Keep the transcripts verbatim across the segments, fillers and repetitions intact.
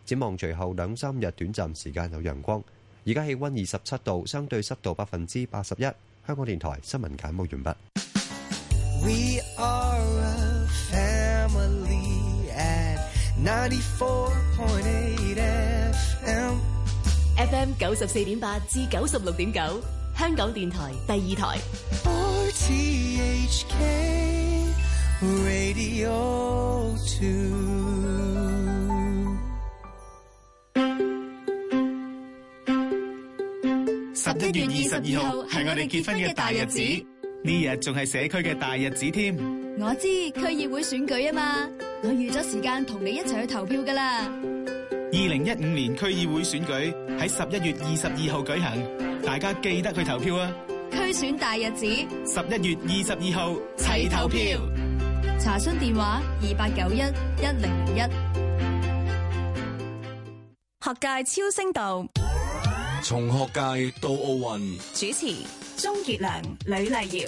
展望隨後兩三日短暫時間有陽光。而家氣溫二十七度，相對濕度百分之八十一。香港電台新聞簡報完畢。We are a family at ninety-four point eight F M F M 九十四點八至九十六點九，香港電台第二台。 R T H K Radio two。 十一月二十二號係我哋結婚嘅大日子，呢日仲係社區嘅大日子添。 我知區議會選舉啊嘛，我預咗時間同你一齊去投票噶啦。 二零一五年區議會選舉喺十一月二十二號舉行，大家記得去投票啊！ 區選大日子， 十一月二十二號齊投票。 查詢電話二八九一一零零一。 學界超聲道， 從學界到奧運， 主持鍾傑良、呂麗瑤。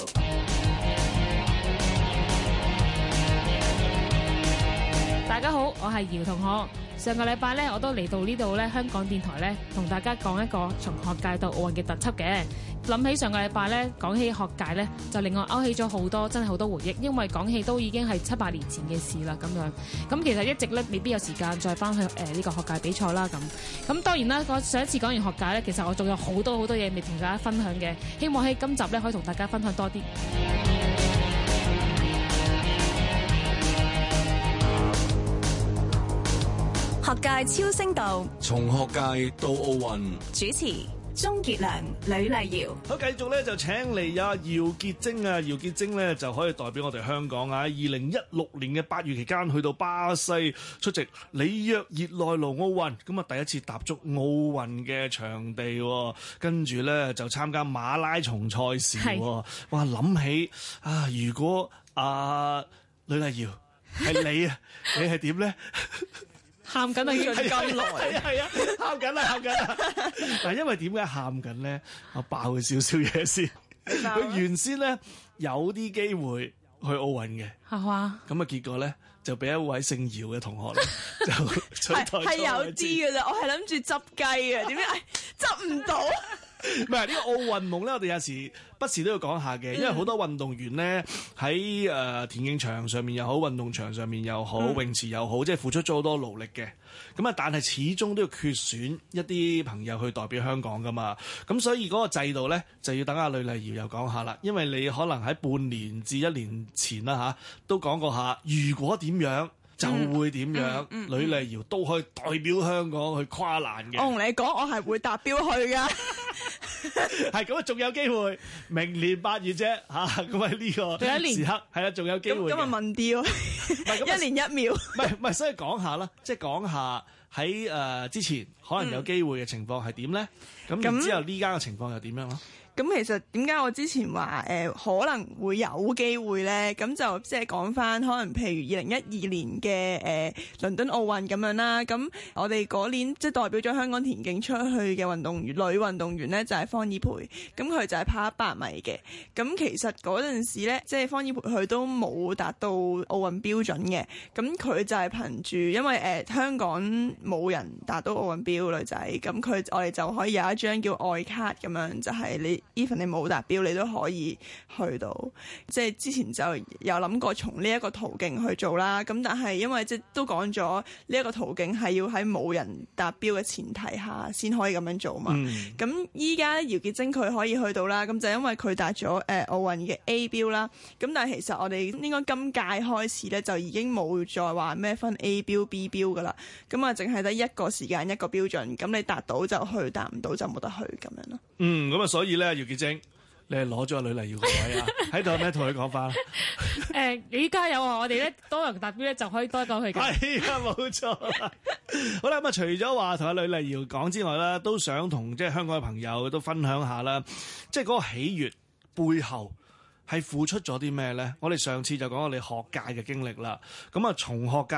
大家好，我係姚同學。上個禮拜咧，我都嚟到呢度咧，香港電台咧，同大家講一個從學界到奧運嘅特輯嘅。諗起上個禮拜咧，講起學界咧，就令我勾起咗好多真係好多回憶，因為講起都已經係七八年前嘅事啦。咁樣咁其實一直咧未必有時間再翻去誒呢、呃這個學界比賽啦。咁咁當然啦，我上一次講完學界咧，其實我仲有好多好多嘢未同大家分享嘅，希望喺今集咧可以同大家分享多啲。 學界超聲道， 從學界到奧運， 主持鍾傑良、呂麗瑤。 好，繼續咧就請嚟有姚潔貞啊，姚潔貞咧就可以代表我哋香港啊，二零一六年嘅八月期間去到巴西出席里約熱內盧奧運，咁啊第一次踏足奧運嘅場地，跟住咧就參加馬拉松賽事。哇，諗起啊，如果啊呂麗瑤係你啊，你係點咧？ 喊緊啊！要咁耐， 係啊係啊，喊緊啦喊緊啦！嗱，因為點解喊緊咧？我爆佢少少嘢先。佢原先咧有啲機會去奧運嘅， 係嘛？ 咁啊結果咧就俾一位姓姚嘅同學咧就取代咗。 係有啲嘅啫，我係諗住執雞啊，點解執唔到？ 唔係呢個奧運夢咧，我哋有時不時都要講下嘅，因為好多運動員咧喺誒田徑場上面又好，運動場上面又好，嗯、泳池又好，即係付出咗好多努力嘅。咁啊，但係始終都要缺選一啲朋友去代表香港噶嘛。咁所以嗰個制度咧就要等阿呂麗瑤又講下啦。因為你可能喺半年至一年前啦嚇，都講過下，如果點樣就會點樣，呂、嗯嗯嗯、麗瑤都可以代表香港去跨欄嘅。 我同你講，我係會達標去㗎。 係咁啊，仲有機會，明年八月啫嚇，咁喺呢個時刻係啦，仲有機會。 今日問啲喎，一年一秒。 唔係唔係，所以講下啦，即係講下喺誒、呃、之前可能有機會嘅情況係點咧？咁、嗯、然之後呢家嘅情況又點樣咯？ 咁其實點解我之前話誒、呃、可能會有機會咧？咁就即係講翻，可能譬如二零一二年嘅誒、呃、倫敦奧運咁樣啦。咁我哋嗰年即係代表咗香港田徑出去嘅運動員，女運動員咧就係、是、方依培。咁佢就係跑一百米嘅。咁其實嗰陣時咧，即係方依培佢都冇達到奧運標準嘅。咁佢就係憑住，因為誒、呃、香港冇人達到奧運標女仔，咁佢我哋就可以有一張叫愛卡咁樣，就係、是、你。even 你冇達標，你都可以去到。即係之前就有諗過從呢一個途徑去做啦。咁但係因為即係都講咗呢一個途徑係要喺冇人達標嘅前提下先可以咁樣做嘛。咁依家咧姚潔貞佢可以去到啦。咁就因為佢達咗誒奧運嘅 A 標啦。咁但係其實我哋應該今屆開始咧就已經冇再話咩分 A 標 B 標噶啦。咁啊淨係得一個時間一個標準。咁你達到就去，達唔到就冇得去咁樣咯。 嗯，咁啊所以咧姚潔貞，你係攞咗阿呂麗瑤個位啊？喺度有咩同佢講翻？ 誒，你加油啊！我哋咧多人達標咧就可以多一個去嘅。 係啊，冇錯。好啦，咁啊，除咗話同阿呂麗瑤講之外啦，都想同即係香港嘅朋友都分享下啦，即係嗰個喜悅背後係付出咗啲咩咧？我哋上次就講我哋學界嘅經歷啦，咁啊從學界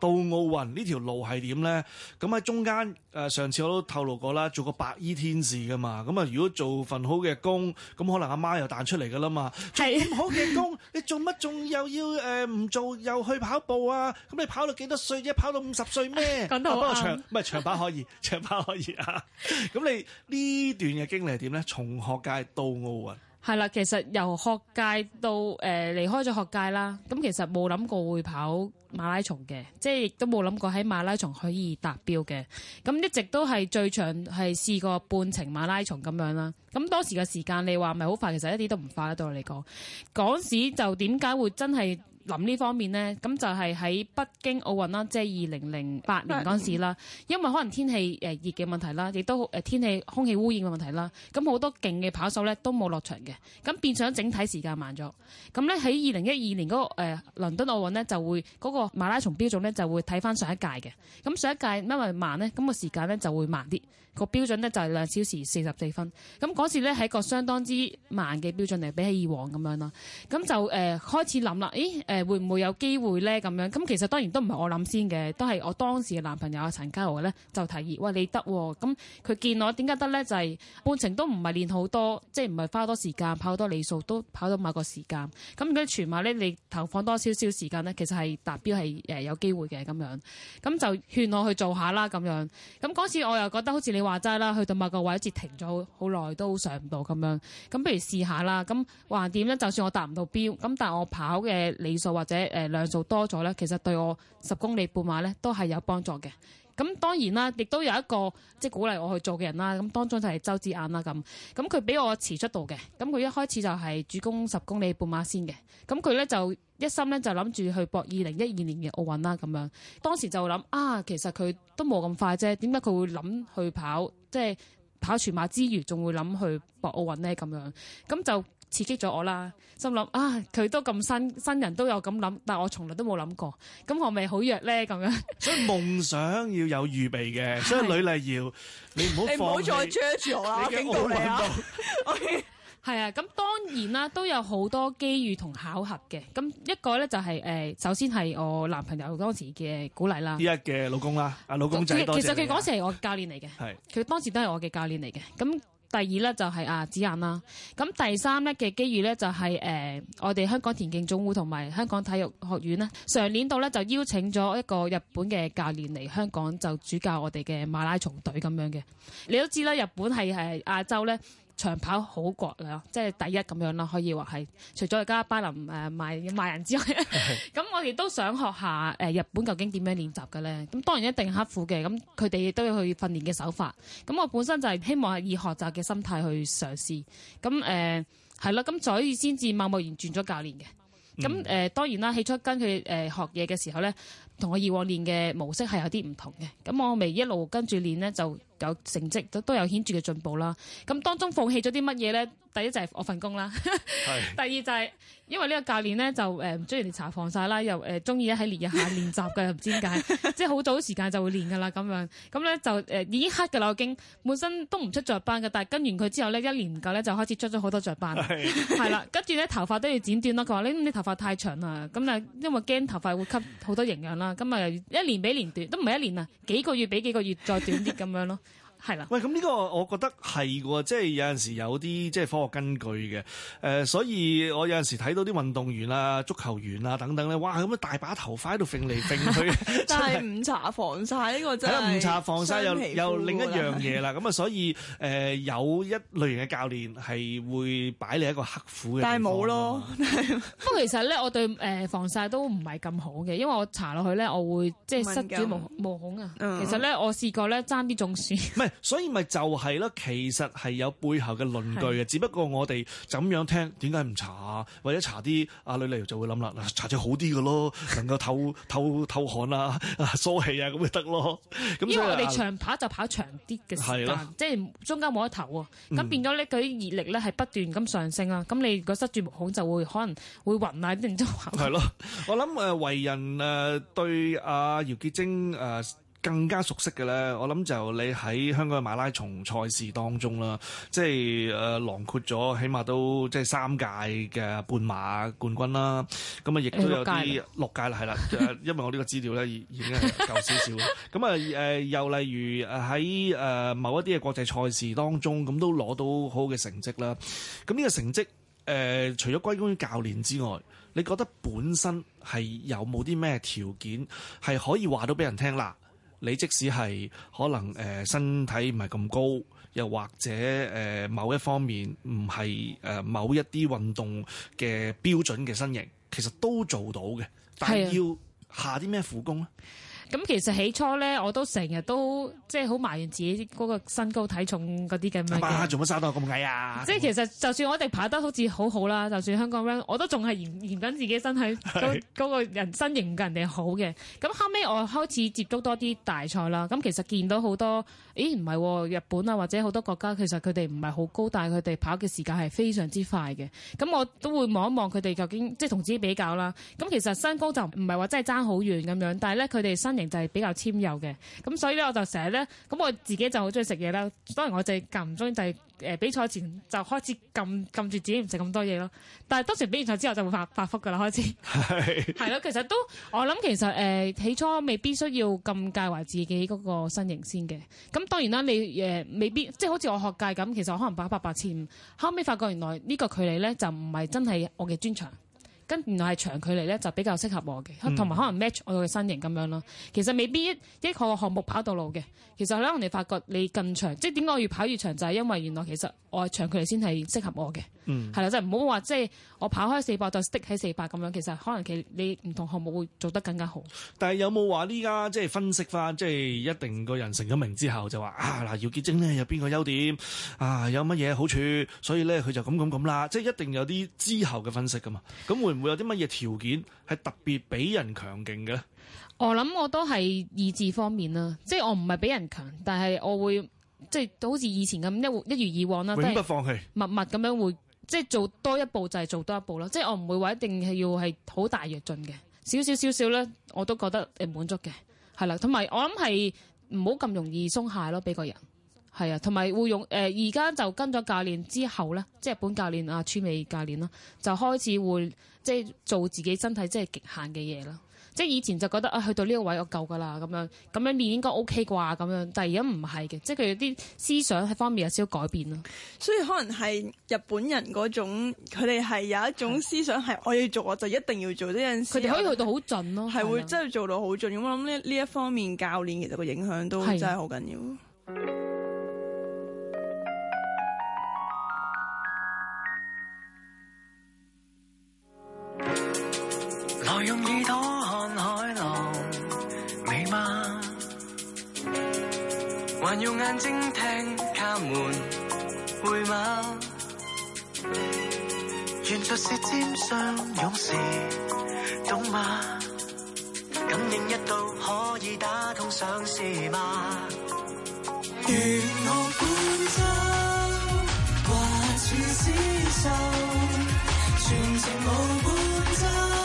到奧運呢條路係點咧？咁喺中間誒、呃、上次我都透露過啦，做個白衣天使噶嘛。咁啊，如果做份好嘅工，咁可能阿媽又彈出嚟噶啦嘛。做咁好嘅工，你做乜仲又要誒唔、呃、做又去跑步啊？咁你跑到幾多歲啫？跑到五十歲咩？ 講得好啱。 不過長唔係長跑可以，長跑可以啊。咁你呢段嘅經歷係點咧？從學界到奧運。 係啦，其實由學界到誒、呃、離開咗學界啦，咁其實冇諗過會跑馬拉松嘅，即係亦都冇諗過喺馬拉松可以達標嘅。咁一直都係最長係試過半程馬拉松咁樣啦。咁當時嘅時間你話咪好快，其實一啲都唔快啦，對我嚟講。嗰時就點解會真係諗呢方面呢？咁就係喺北京奧運啦，即係二零零八年嗰陣時啦。因為可能天氣誒熱嘅問題啦，亦都誒天氣空氣污染嘅問題啦。咁好多勁嘅跑手咧都冇落場嘅，咁變相整體時間慢咗。咁咧喺二零一二年嗰、那個誒、呃、倫敦奧運呢，就會嗰、那個馬拉松標準咧就會睇翻上一屆嘅。咁上一屆因為慢呢，咁、那個時間咧就會慢啲。個標準咧就係兩小時四十四分。咁嗰時咧係一個相當之慢嘅標準嚟，比起以往咁樣啦。咁就誒、呃、開始諗啦，誒誒、呃、會唔會有機會咧咁樣？咁其實當然都唔係我諗先嘅，都係我當時嘅男朋友阿陳家豪咧就提議，喂，你得喎。咁佢見我點解得咧？就係、是、半程都唔係練好多，即係唔係花多時間跑好多里數，都跑到某個時間。咁如果全馬咧你投放多少少時間咧，其實係達標係誒有機會嘅咁樣。咁就勸我去做下啦咁樣。咁嗰次我又覺得好似你話齋啦，去到某個位置停咗好耐都上唔到咁樣，咁不如試下啦。咁橫掂咧，就算我達唔到標，咁但係我跑嘅里數或者誒量數多咗咧，其實對我十公里半馬咧都係有幫助嘅。咁當然啦，亦都有一個即係鼓勵我去做嘅人啦。咁當中就係周子晏啦咁，咁佢俾我遲出道嘅。咁佢一開始就係主攻十公里半馬先嘅。咁佢咧就一心咧就諗住去搏二零一二年嘅奧運啦咁樣。當時就諗啊，其實佢都冇咁快啫，點解佢會諗去跑即係跑全馬之餘，仲會諗去搏奧運咧咁樣？咁就刺激咗我啦，心諗啊，佢都咁新新人都有咁諗，但我從來都冇諗過，咁我咪好弱咧咁樣。所以夢想要有預備嘅，所以呂麗瑤，你唔好放棄， 你唔好再追住我啦，警告你啊！ 係啊，咁當然啦，都有好多機遇同巧合嘅。咁一個咧就係、是、誒、呃，首先係我男朋友當時嘅鼓勵啦。 依家嘅老公啦，阿老公仔多謝你。其實佢嗰時係我教練嚟嘅，係佢當時都係我嘅教練嚟嘅。咁第二咧就係阿子晏啦。咁第三咧嘅機遇咧就係、是、誒、呃，我哋香港田徑總會同埋香港體育學院咧，上年度咧就邀請咗一個日本嘅教練嚟香港，就主教我哋嘅馬拉松隊咁樣嘅。你都知啦，日本係係亞洲咧長跑好國啦，即係第一咁樣啦，可以話係。除咗而家巴林誒賣賣人之外，咁我哋都想學下誒日本究竟點樣練習嘅咧。咁當然一定刻苦嘅，咁佢哋亦都要去訓練嘅手法。咁我本身就係希望係以學習嘅心態去嘗試。咁誒係啦，咁、呃、所以先至貿貿然轉咗教練嘅。咁誒、呃、當然啦，起初跟佢誒、呃、學嘢嘅時候咧，同我以往練嘅模式係有啲唔同嘅。咁我咪一路跟住練咧，就有成績都都有顯著嘅進步啦。咁當中放棄咗啲乜嘢咧？第一就係我份工啦，第二就係因為呢個教練咧就誒唔中意人哋搽防曬啦，又誒中意喺烈日下練習嘅，唔知點解，即係好早時間就會練噶啦咁樣。咁咧就誒、呃、已經黑㗎啦，我已經本身都唔出雀斑嘅，但係跟完佢之後咧，一年唔夠咧就開始出咗好多雀斑，係啦。跟住咧頭髮都要剪短啦，佢話你你頭髮太長啦，咁啊因為驚頭髮會吸好多營養啦，咁啊一年比年短，都唔係一年啊，幾個月比幾個月再短啲咁樣咯。係啦， 喂，咁呢個我覺得係喎，即係有陣時有啲即係科學根據嘅，誒、呃，所以我有陣時睇到啲運動員啊、足球員啊等等咧，哇，咁樣大把頭髮喺度揈嚟揈去， 但係唔搽防曬呢個真係， 唔搽防曬又又另一樣嘢啦，咁啊，所以誒、呃、有一類型嘅教練係會擺你一個刻苦嘅， 但係冇咯。 不過其實咧，我對誒防曬都唔係咁好嘅，因為我搽落去咧，我會即係塞住毛毛孔啊。嗯、其實咧，我試過咧爭啲中暑。唔係。 所以咪就係咯，其實係有背後嘅論據嘅，是只不過我哋就咁樣聽，點解唔搽啊？或者搽啲阿呂麗瑤就會諗啦，嗱，搽隻好啲嘅咯，能夠透透透汗啊、疏氣啊咁咪得咯。咁因為我哋長跑就跑長啲嘅時間，即係中間冇得唞啊。咁、嗯、變咗咧，佢啲熱力咧係不斷咁上升啊。咁你如果塞住毛孔就會可能會暈啊，定都係咯。 我諗誒為人誒對阿姚潔貞誒。 更加熟悉嘅咧，我諗就你喺香港嘅馬拉松賽事當中啦，即係誒囊括咗，起碼都即係三屆嘅半馬冠軍啦。咁啊，亦都有啲六屆啦，係啦，因為我呢個資料咧已已經係夠少少啦。咁啊誒，又例如誒喺誒某一啲嘅國際賽事當中，咁都攞到好好嘅成績啦。咁呢個成績誒、呃，除咗歸功於教練之外，你覺得本身係有冇啲咩條件係可以話到俾人聽啦？你即使係可能誒、呃、身體唔係咁高，又或者誒、呃、某一方面唔係誒某一啲運動嘅標準嘅身形，其實都做到嘅，但係要下啲咩苦功咧？ 咁其實起初咧，我都成日都即係好埋怨自己嗰個身高體重嗰啲咁樣嘅。 做乜生到咁矮啊？ 即係其實就算我哋跑得好似好好啦，就算香港 run， 我都仲係嫌嫌緊自己身體嗰嗰個人身形唔夠人哋好嘅。咁後尾我開始接觸多啲大賽啦。咁其實見到好多，咦唔係喎，日本啊或者好多國家其實佢哋唔係好高，但係佢哋跑嘅時間係非常之快嘅。咁我都會望一望佢哋究竟即係同自己比較啦。咁其實身高就唔係話真係爭好遠咁樣，但係咧佢哋身形就係比較纖幼嘅，咁所以咧我就成日咧，咁我自己就好中意食嘢啦。當然我就間唔中就係誒比賽前就開始撳撳住自己唔食咁多嘢咯。但係當時比完賽之後就會發發福噶啦，開始係係咯。其實都我諗其實誒、呃、起初未必需要咁介懷自己嗰個身形先嘅。咁當然啦，你誒、呃、未必即係好似我學界咁，其實我可能跑一百八千五，後尾發覺原來呢個距離咧就唔係真係我嘅專長。跟原來係長距離咧就比較適合我嘅，同埋可能 match 我嘅身形咁樣咯。其實未必一一個項目跑到路嘅，其實咧我哋發覺你更長，即係點解我越跑越長就係、是、因為原來其實我係長距離先係適合我嘅，係啦、嗯，即係唔好話即係我跑開四百就 stick 喺四百咁樣，其實可能其你唔同項目會做得更加好。 但係有冇話呢家即係分析翻，即係一定個人成咗名之後就話啊嗱，姚潔貞咧有邊個優點啊，有乜嘢好處，所以咧佢就咁咁咁啦，即係一定有啲之後嘅分析噶嘛。咁會唔會有啲乜嘢條件係特別比人強勁嘅？ 我諗我都係意志方面啦，即係我唔係比人強，但係我會即係好似以前咁一一如以往啦， 永不放棄， 默默咁樣會即係做多一步就係做多一步啦。即係我唔會話一定係要係好大躍進嘅，少少少少咧我都覺得誒滿足嘅，係啦。同埋我諗係唔好咁容易鬆懈咯，俾個人係啊。同埋會用誒而家就跟咗教練之後咧，即係日本教練阿川美教練啦，就開始會即係做自己身體即係極限嘅嘢啦。即係以前就覺得啊，去到呢個位我夠㗎啦，咁樣咁樣練應該 OK 啩咁樣，但係而家唔係嘅，即係佢有啲思想喺方面有少少改變咯。 所以可能係日本人嗰種，佢哋係有一種思想係我要做我就一定要做呢陣時， 佢哋可以去到好盡咯， 係會真係做到好盡。咁我諗呢呢一方面教練其實個影響都真係好緊要。 來用耳朵看海浪，美嗎？還用眼睛聽他們會嗎？原來是尖上勇士，懂嗎？感應一到可以打通上司嗎？願我伴奏，掛住廝守，全程無伴奏。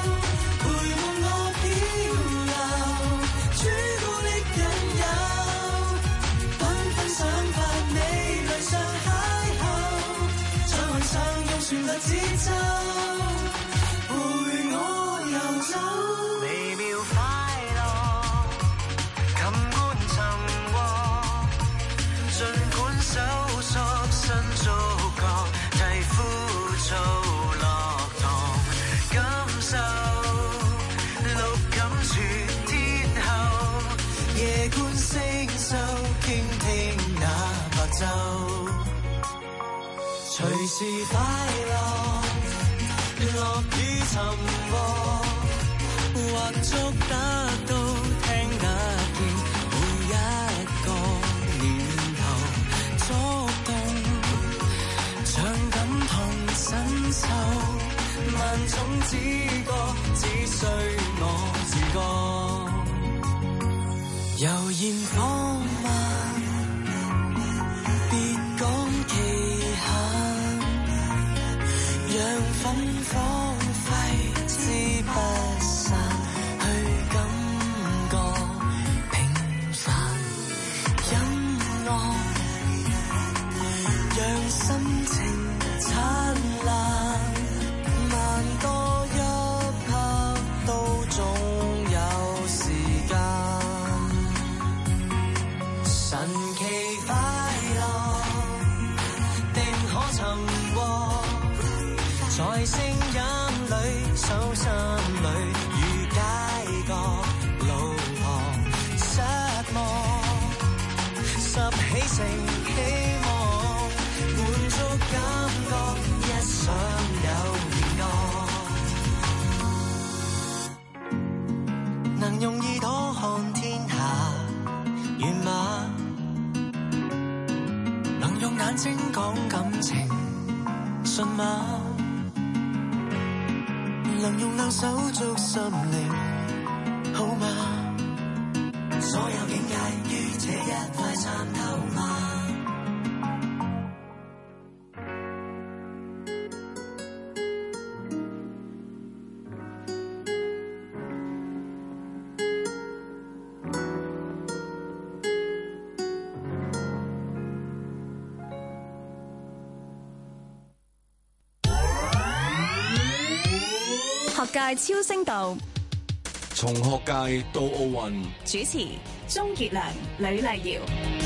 旋律節奏，陪我遊走，微妙快樂，琴官尋獲，儘管搜索新觸覺，替枯燥落堂，感受六感全天候，夜觀星宿，傾聽那白晝。隨時快樂，樂與沉默，或捉得到，聽得見每一個念頭，觸動，像感同身受，萬種知覺，只需我自覺，悠然放慢，別講期限。讓芬芳揮之不散，去感覺平心情燦爛，慢多一刻都總有時間。神奇快樂，定可尋獲，在聲音裏、手心裏，與街角路旁失望，拾起成希望，滿足感覺，一想有年光，能用耳朵看天下遠嗎？能用眼睛講感情信嗎？能用兩手捉心靈好嗎？所有境界於這一塊參透嗎？ 學界超聲道， 從學界到奧運， 主持鍾傑良、呂麗瑤。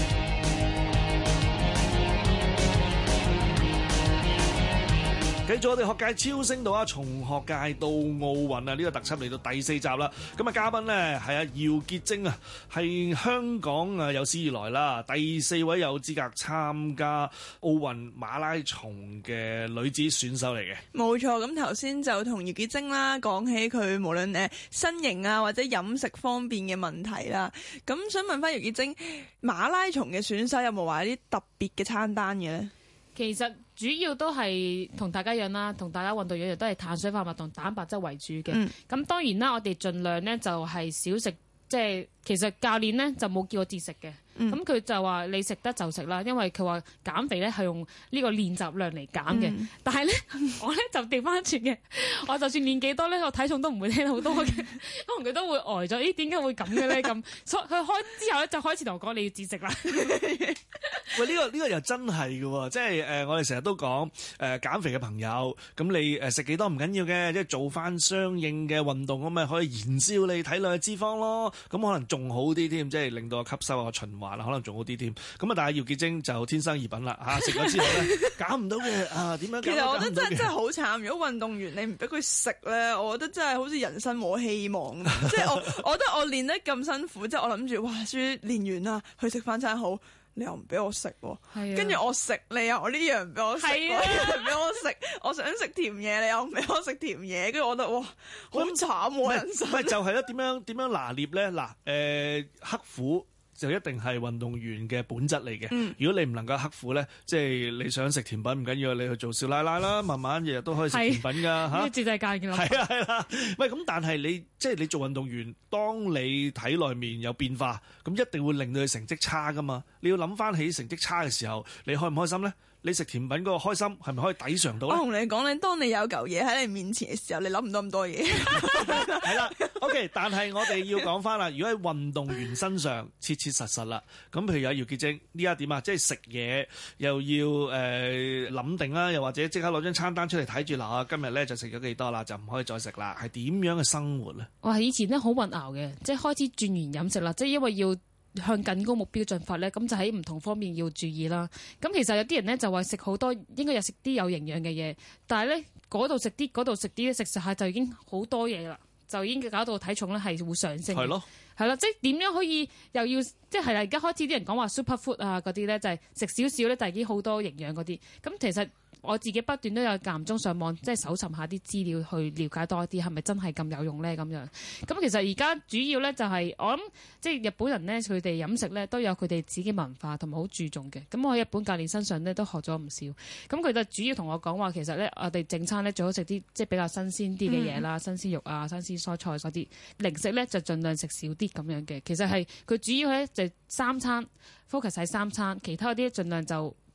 繼續我哋學界超聲道啊，從學界到奧運啊，呢個特輯嚟到第四集啦。咁啊，嘉賓呢係阿姚潔貞啊，係香港啊有史以來啦第四位有資格參加奧運馬拉松嘅女子選手嚟嘅。 冇錯，咁頭先就同姚潔貞啦講起佢無論誒身形啊或者飲食方面嘅問題啦。咁想問翻姚潔貞，馬拉松嘅選手有冇話啲特別嘅餐單嘅咧？ 其實主要都係同大家一樣啦，同大家運動一樣，都係碳水化合物同蛋白質為主嘅。咁、嗯、當然啦，我哋盡量咧就係少食，即係其實教練咧就冇叫我節食嘅。咁佢、嗯、就話你食得就食啦，因為佢話減肥咧係用呢個練習量嚟減嘅。嗯、但係咧我咧就調翻轉嘅，我就算練幾多咧，我體重都唔會聽好多嘅，可能佢都會呆咗。咦？點解會咁嘅咧？咁所以佢開之後咧就開始同我講你要節食啦。 喂，呢、呢個呢、呢個又真係嘅喎，即係誒、呃、我哋成日都講誒、呃、減肥嘅朋友，咁你誒食幾多唔緊要嘅，即係做翻相應嘅運動咁咪可以燃燒你體內嘅脂肪咯。咁可能仲好啲添，即係令到個吸收啊循環啊，可能仲好啲添。咁啊，但係姚潔貞就天生異品啦嚇，食咗之後咧減唔到嘅啊，點樣減？ 其實我覺得真係真係好慘。如果運動員你唔俾佢食咧，我覺得真係好似人生冇希望。即係我，我覺得我練得咁辛苦，即係我諗住哇，終於練完啦，去食翻餐好。你又唔俾我食喎，跟住、啊、我食你又我呢樣唔俾我食，嗰樣唔俾我食，我想食甜嘢你又唔俾我食甜嘢，跟住我覺得哇好慘喎人生。唔係就係咧點樣點樣拿捏咧？嗱誒、呃、刻苦就一定係運動員嘅本質嚟嘅。嗯、如果你唔能夠刻苦咧，即係你想食甜品唔緊要，你去做少奶奶啦，慢慢日日都可以食甜品㗎嚇。呢個節制戒嘅啦。係啊係啦，喂咁但係你即係你做運動員，當你體內面有變化，咁一定會令到你成績差㗎嘛。你要諗翻起成績差嘅時候，你開唔開心咧？你食甜品嗰個開心係咪可以抵償到咧？我同你講咧，當你有嚿嘢喺你面前嘅時候，你諗唔到咁多嘢。係啦，OK，但係我哋要講翻啦。如果喺運動員身上切切實實啦，咁譬如有姚潔貞呢一點啊，即係食嘢又要誒諗、呃、定啦，又或者即刻攞張餐單出嚟睇住嗱，今日咧就食咗幾多啦，就唔可以再食啦。係點樣嘅生活咧？我係以前咧好混淆嘅，即係開始轉完飲食啦，即係因為要向更高目標進發咧，咁就喺唔同方面要注意啦。咁其實有啲人咧就話食好多，應該有食啲有營養嘅嘢，但係咧嗰度食啲，嗰度食啲，食食下就已經好多嘢啦，就已經搞到體重咧係會上升。係咯，係啦，即係點樣可以又要即係係啦？而家開始啲人講話 super food 啊嗰啲咧，就係食少少咧，就已經好多營養嗰啲。咁其實我自己不斷都有間唔中上網，即係搜尋下啲資料去了解多一啲，係咪真係咁有用咧？咁樣咁其實而家主要咧就係、是、我諗，即係日本人咧，佢哋飲食咧都有佢哋自己文化同埋好注重嘅。咁我喺日本教練身上咧都學咗唔少。咁佢就主要同我講話，其實咧我哋正餐咧最好食啲即係比較新鮮啲嘅嘢啦，嗯、新鮮肉啊、新鮮蔬菜嗰啲零食咧就盡量食少啲咁樣嘅。其實係佢主要咧就三餐 focus 喺三餐，其他嗰啲盡量就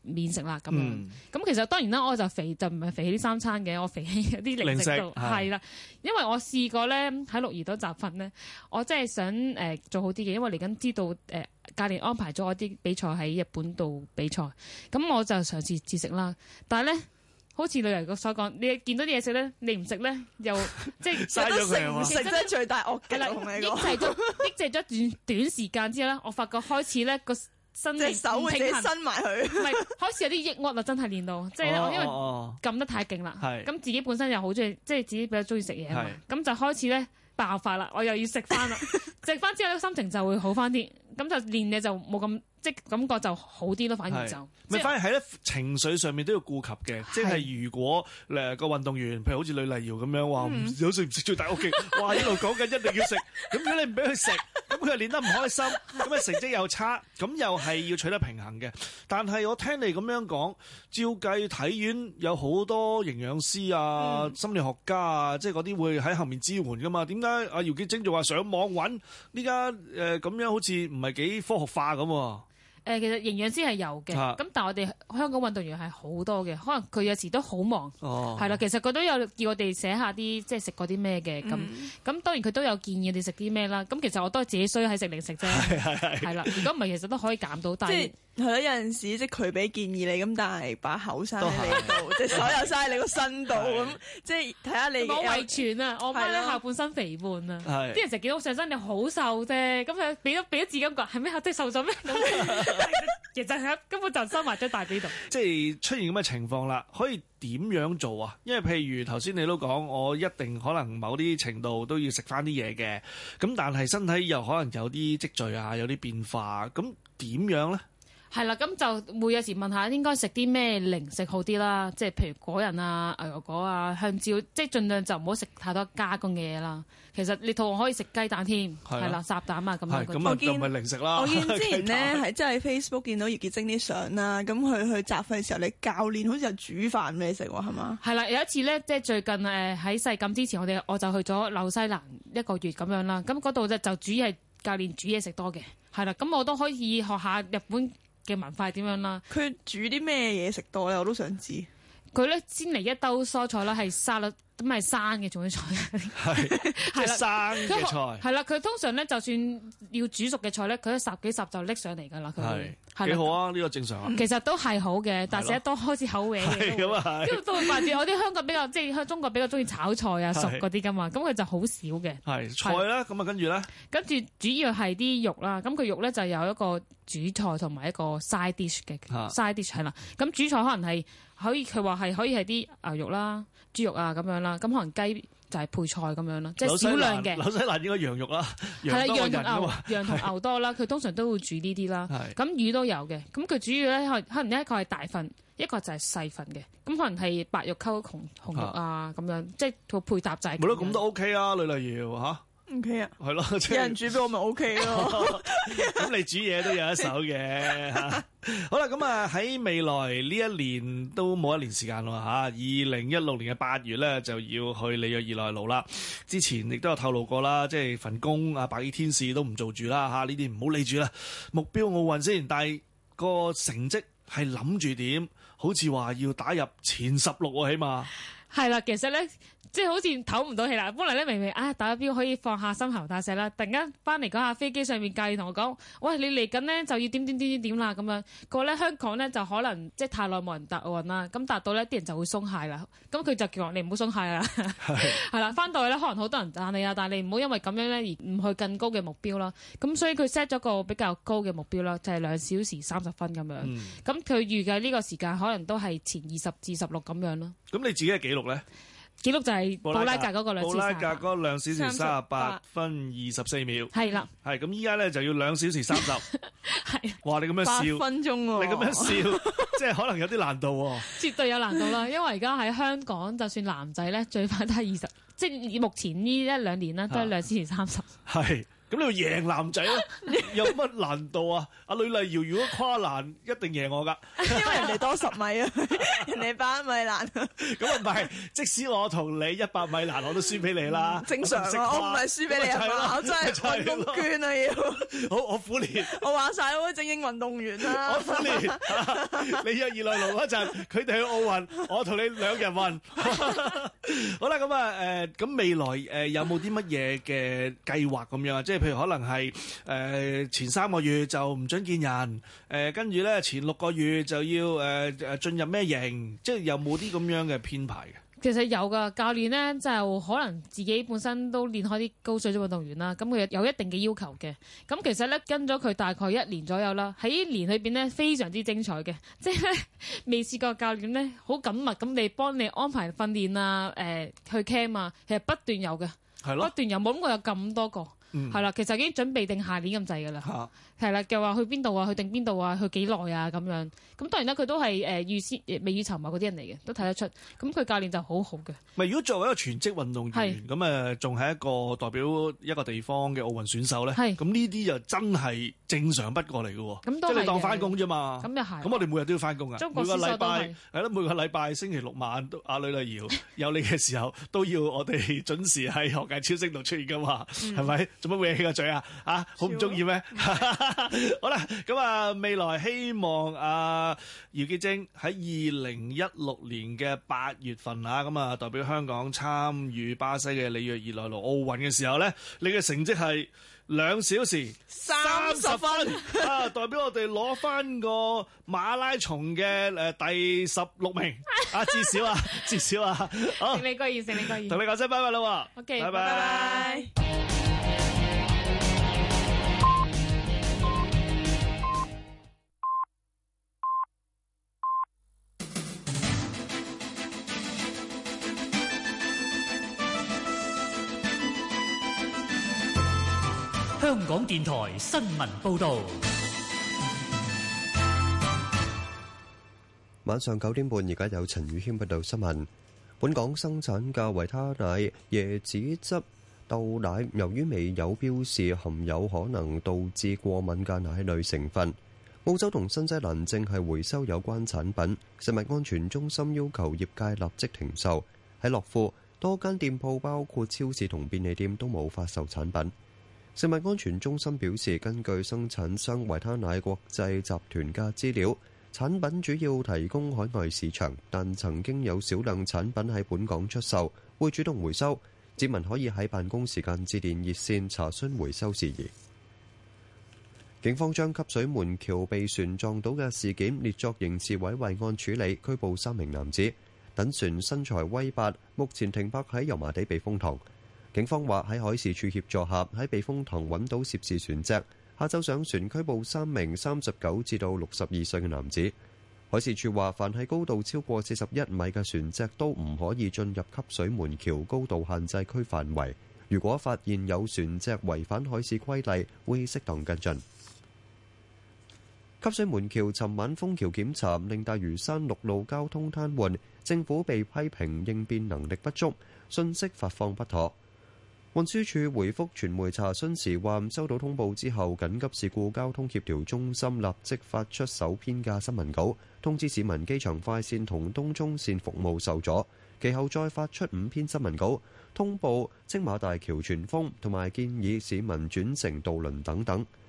免食啦咁樣。 嗯咁其實當然啦，我就肥就唔係肥起啲三餐嘅，我肥起啲零食度係啦。因為我試過咧喺鹿兒島集訓咧，我真係想誒、呃、做好啲嘅，因為嚟緊知道誒、呃、教練安排咗我啲比賽喺日本度比賽，咁我就嘗試節食啦。但係咧，好似旅遊局所講，你見到啲嘢食咧，你唔食咧，又即係嘥咗佢啊嘛。 食真係最大惡係啦， 同你抑講。 制咗抑制咗短短時間之後咧，我發覺開始咧個身體隻手會自己伸埋佢， 唔係開始有啲抑鬱啦，真係練到，即係咧，因為撳得太勁啦，咁自己本身又好中意，即係自己比較中意食嘢啊嘛，咁就開始咧爆發啦，我又要食翻啦，食翻之後咧心情就會好翻啲，咁就練嘢就冇咁即係感覺就好啲咯，反而就咪反而喺咧情緒上面都要顧及嘅，即係如果誒個運動員，譬如好似呂麗瑤咁樣話唔有食唔食最大屋企，哇一路講緊一定要食，咁如果你唔俾佢食，咁佢又練得唔開心，咁啊成績又差，咁又係要取得平衡嘅。但係我聽你咁樣講，照計體院有好多營養師啊、嗯、心理學家啊，即係嗰啲會喺後面支援噶嘛？點解阿姚潔貞就話上網揾呢家誒咁樣好似唔係幾科學化咁？ 誒，其實營養師係有嘅，咁、啊、但係我哋香港運動員係好多嘅，可能佢有時都好忙，係啦、哦。其實佢都有叫我哋寫下啲即係食過啲咩嘅，咁咁、嗯、當然佢都有建議我哋食啲咩啦。咁其實我都係自己衰喺食零食啫，係啦。如果唔係，其實都可以減到，但係。 係咯，有陣時即係佢俾建議你，咁但係把口生喺你度，即係所有生喺你個身度，咁即係睇下你。 我遺傳啊，我媽咧下半身肥胖啊，啲人成日見到上身你好瘦啫，咁佢俾咗俾咗自己感覺係咩？即係瘦咗咩？其實係根本就收埋咗大髀度。 即係出現咁嘅情況啦，可以點樣做啊？因為譬如頭先你都講，我一定可能某啲程度都要食翻啲嘢嘅，咁但係身體又可能有啲積聚啊，有啲變化，咁點樣咧？ 係啦，咁就會有時問下應該食啲咩零食好啲啦，即係譬如果仁啊、牛油果啊、香蕉，即係盡量就唔好食太多加工嘅嘢啦。其實你肚餓可以食雞蛋添，係啦，烚蛋啊咁樣。 咁啊，就唔係零食啦。 我見之前咧係真係 Facebook 見到葉潔貞啲相啦，咁佢去集訓嘅時候，你教練好似有煮飯俾你食喎，係嘛？ 係啦，有一次咧，即係最近誒喺世錦之前，我哋我就去咗紐西蘭一個月咁樣啦。咁嗰度咧就主要係教練煮嘢食多嘅，係啦。咁我都可以學下日本嘅文化係點樣啦？佢煮啲咩嘢食多咧？我都想知。 佢咧先嚟一兜蔬菜啦，係沙律咁係生嘅種菜， 係即係生嘅菜。 係啦，佢通常咧就算要煮熟嘅菜咧，佢一霎幾霎就拎上嚟㗎啦。佢係幾好啊？呢、呢個正常啊。 其實都係好嘅，但係食得多開始口味嘅。 咁啊係。 因為都會發現我啲香港比較即係香中國比較中意炒菜啊、熟嗰啲㗎嘛，咁佢就好少嘅。 係菜啦，咁啊跟住咧。 跟住主要係啲肉啦，咁佢肉咧就有一個主菜同埋一個 side dish 嘅 side dish 係啦。咁主菜可能係。可以佢話係可以係啲牛肉啦、豬肉啊咁樣啦，咁可能雞就係配菜咁樣啦，即係少量嘅。 紐西蘭應該羊肉啦， 係啦，羊同牛，羊同牛多啦，佢通常都會煮呢啲啦。咁魚都有嘅，咁佢主要咧可能一個係大份，一個就係細份嘅，咁可能係白肉溝紅紅肉啊咁樣，即係個配搭就係。 冇得咁都 OK 啊，呂麗瑤嚇。 O K 啊， 係咯， 有人煮俾我咪 O K 咯。 咁你煮嘢都有一手嘅嚇。好啦，咁啊喺未來呢一年都冇一年時間咯嚇。二零一六年嘅八月咧就要去里約熱內盧啦。之前亦都有透露過啦，即係份工啊，白衣天使都唔做住啦嚇。呢啲唔好理住啦，目標奧運先。但係個成績係諗住點？好似話要打入前十六喎，起碼。 係啦，其實咧。即係好似唞唔到氣啦，本來咧明明啊打標可以放下心頭大石啦，突然間翻嚟嗰下飛機上面教練同我講，喂，你嚟緊呢就要點點點點點啦咁樣。個咧香港咧就可能即係太耐冇人答奧運啦，咁達到咧啲人就會鬆懈啦。咁佢就叫我你唔好鬆懈啦，係啦，翻到去咧可能好多人讚你啊，但係你唔好因為咁樣咧而唔去更高嘅目標啦。咁所以佢 set 咗個比較高嘅目標啦，就係兩小時三十分咁樣。咁佢、嗯、預計呢個時間可能都係前二十至十六咁樣咯。 咁你自己嘅記錄咧？ 記錄就係布拉格嗰個兩小時， 布拉格嗰兩小時三十八分二十四秒。 係啦， 係咁依家咧就要兩小時三十。係，哇！你咁樣笑， 八分鐘喎， 你咁樣笑，即係可能有啲難度喎。 絕對有難度啦，因為而家喺香港，就算男仔咧，最快都係二十，即係目前呢一兩年咧，都係兩小時三十。 係。咁你要贏男仔咯， 有乜難度啊？阿呂麗瑤如果跨欄，一定贏我㗎， 因為人哋多十米啊，人哋百米欄。 咁啊唔係，即使我同你一百米欄，我都輸俾你啦。 正常啊，我唔係輸俾你啊嘛，我真係運動券啊要。 好，我苦練。 我話晒我精英運動員啦。 我苦練。你約二來龍嗰陣，佢哋去奧運，我同你兩人運。好啦，咁啊誒，咁未來誒有冇啲乜嘢嘅計劃咁樣啊？即係譬如可能係誒前三個月就唔準見人，誒跟住咧前六個月就要誒誒進入咩營，即係有冇啲咁樣嘅編排嘅？ 其實有噶，教練咧就可能自己本身都練開啲高水準運動員啦，咁佢有一定嘅要求嘅。咁其實咧跟咗佢大概一年左右啦，喺呢年裏邊咧非常之精彩嘅，即係咧未試過教練咧好緊密咁你幫你安排訓練啊，誒、呃、去 camp 啊，其實不斷有嘅， 係咯， 不斷有，冇諗過有咁多個，係、嗯、啦，其實已經準備定下年咁滯㗎啦，係啦，嘅話去邊度啊，去定邊度啊，去幾耐啊咁樣。咁當然啦，佢都係誒預先未雨綢繆嗰啲人嚟嘅，都睇得出。咁佢教練就好好嘅。咪如果作為一個全職運動員，咁誒仲係一個代表一個地方嘅奧運選手咧，咁呢啲就真係正常不過嚟嘅喎。咁都係即係你當翻工啫嘛。咁又係。咁我哋每日都要翻工啊。每個禮拜係咯，每個禮拜星期六晚都阿呂麗瑤有你嘅時候，都要我哋準時喺學界超星度出現㗎嘛。係咪？做乜會起個嘴啊？啊，好唔中意咩？好啦，咁啊，未來希望啊。姚潔貞喺二零一六年嘅八月份啊，咁啊代表香港參與巴西嘅里約熱內盧奧運嘅時候咧，你嘅成績係兩小時三十分啊，代表我哋攞翻個馬拉松嘅誒第十六名啊，至少啊，至少啊，好， 勝利歸二，勝利歸二， 同你講聲拜拜啦喎 ，OK， 拜拜。 香港電台新聞報導， 晚上九點半，而家有陳宇軒報道新聞。本港生產嘅維他奶、椰子汁、豆奶，由於未有標示含有可能導致過敏嘅奶類成分，澳洲同新西蘭正係回收有關產品。食物安全中心要求業界立即停售。喺樂富，多間店鋪包括超市同便利店都冇發售產品。食物安全中心表示，根據生產商維他奶國際集團嘅資料，產品主要提供海外市場，但曾經有少量產品喺本港出售，會主動回收。市民可以喺辦公時間致電熱線查詢回收事宜。警方將汲水門橋被船撞倒嘅事件列作刑事毀壞案處理，拘捕三名男子。躉船身材威八，目前停泊喺油麻地避風塘。警方話喺海事處協助下，喺避風塘揾到涉事船隻，下晝上船拘捕三名三十九至到六十二歲嘅男子。海事處話，凡係高度超過四十一米嘅船隻都唔可以進入汲水門橋高度限制區範圍。如果發現有船隻違反海事規例，會適當跟進。汲水門橋尋晚封橋檢查，令大嶼山陸路交通癱瘓，政府被批評應變能力不足，信息發放不妥。運輸署回覆傳媒查詢時話，收到通報之後，緊急事故交通協調中心立即發出首篇嘅新聞稿，通知市民機場快線同東涌線服務受阻。其後再發出五篇新聞稿，通報青馬大橋全封，同埋建議市民轉乘渡輪等等。